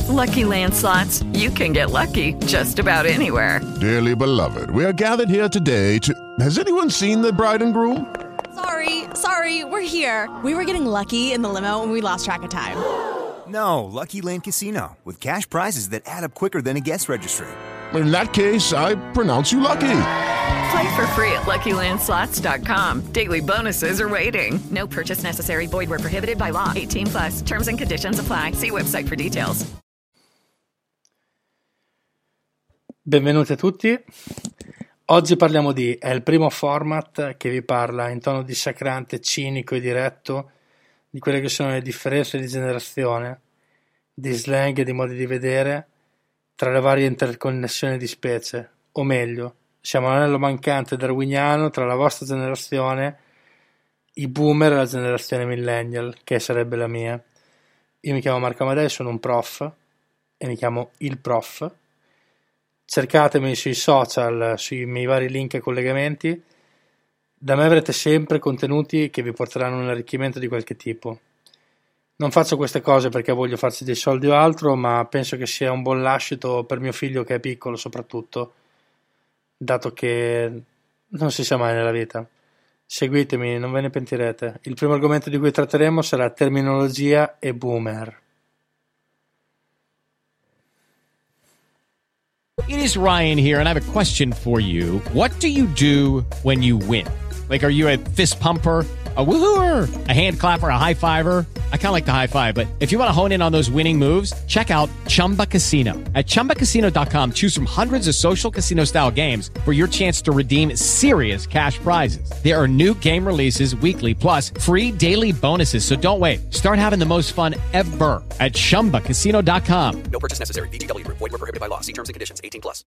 Lucky Land Slots, you can get lucky just about anywhere. Dearly beloved, we are gathered here today to... Has anyone seen the bride and groom? Sorry, we're here. We were getting lucky in the limo and we lost track of time. No, Lucky Land Casino, with cash prizes that add up quicker than a guest registry. In that case, I pronounce you lucky. Play for free at LuckyLandSlots.com. Daily bonuses are waiting. No purchase necessary. Void where prohibited by law. 18+. Terms and conditions apply. See website for details. Benvenuti a tutti. Oggi parliamo di È il primo format che vi parla in tono dissacrante, cinico e diretto di quelle che sono le differenze di generazione, di slang e di modi di vedere tra le varie interconnessioni di specie, o meglio, siamo l'anello mancante darwiniano tra la vostra generazione, i boomer e la generazione millennial, che sarebbe la mia. Io mi chiamo Marco Amadei, sono un prof e mi chiamo Il Prof. Cercatemi sui social, sui miei vari link e collegamenti. Da me avrete sempre contenuti che vi porteranno un arricchimento di qualche tipo. Non faccio queste cose perché voglio farci dei soldi o altro, ma penso che sia un buon lascito per mio figlio che è piccolo soprattutto, dato che non si sa mai nella vita. Seguitemi, non ve ne pentirete. Il primo argomento di cui tratteremo sarà terminologia e boomer. It is Ryan here, and I have a question for you. What do you do when you win? Like, are you a fist pumper, a woohooer, a hand clapper, a high fiver? I kind of like the high five, but if you want to hone in on those winning moves, check out Chumba Casino. At ChumbaCasino.com, choose from hundreds of social casino-style games for your chance to redeem serious cash prizes. There are new game releases weekly, plus free daily bonuses, so don't wait. Start having the most fun ever at ChumbaCasino.com. No purchase necessary. VGW Group. Void where prohibited by law. See terms and conditions. 18+.